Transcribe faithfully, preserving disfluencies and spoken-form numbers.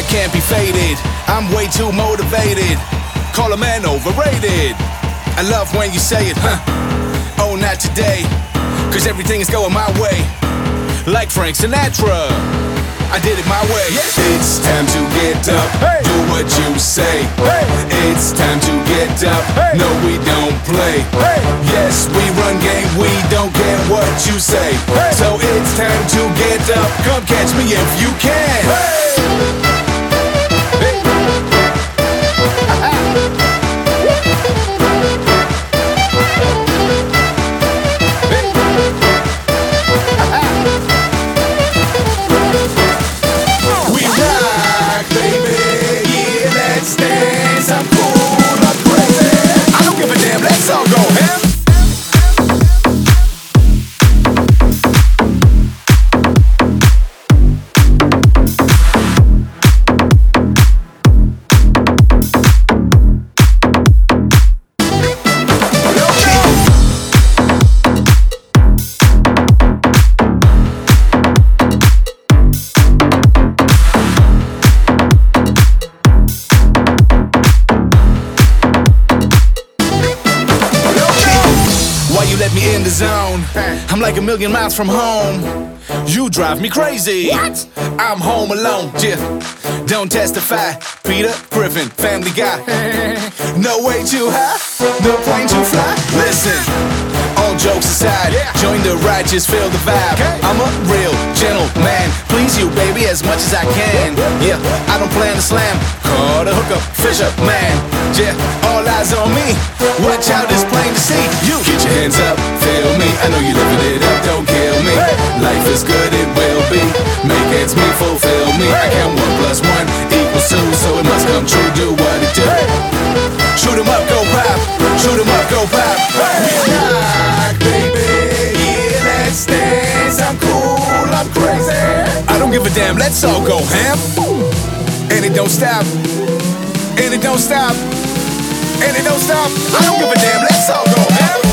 can't be faded. I'm way too motivated. Call a man overrated. I love when you say it, huh? Oh, not today. Cause everything is going my way. Like Frank Sinatra, I did it my way. Yeah. It's time to get up, hey. Do what you say, hey. It's time to get up, hey. No we don't play, hey. Yes we run game, we don't care what you say, hey. So it's time to get up, come catch me if you can, hey. Hey. Let me in the zone. I'm like a million miles from home. You drive me crazy. What? I'm home alone. Yeah. Don't testify. Peter Griffin, Family Guy. No way too high, no plane to fly. Listen, all jokes aside, yeah. Join the ride, just feel the vibe. Okay. I'm a real gentleman. Please you, baby, as much as I can. Yeah, I don't plan to slam. Call the hookup, Fisher man. Yeah, all eyes on me. Watch out, it's plain to see. You get your hands up, feel me. I know you living it up, don't kill me. Hey. Life is good, it will be. Make ends meet, fulfill me. Hey. I count one plus one equals two, so it must come true. Do what it do. Hey. Shoot 'em up, go pop. Shoot 'em up, go pop. Hey. We rock, baby. Yeah, let's dance. I'm cool, I'm crazy. I don't give a damn. Let's all go ham. And it don't stop. And it don't stop. And it don't stop. I don't give a damn. Let's all go ham.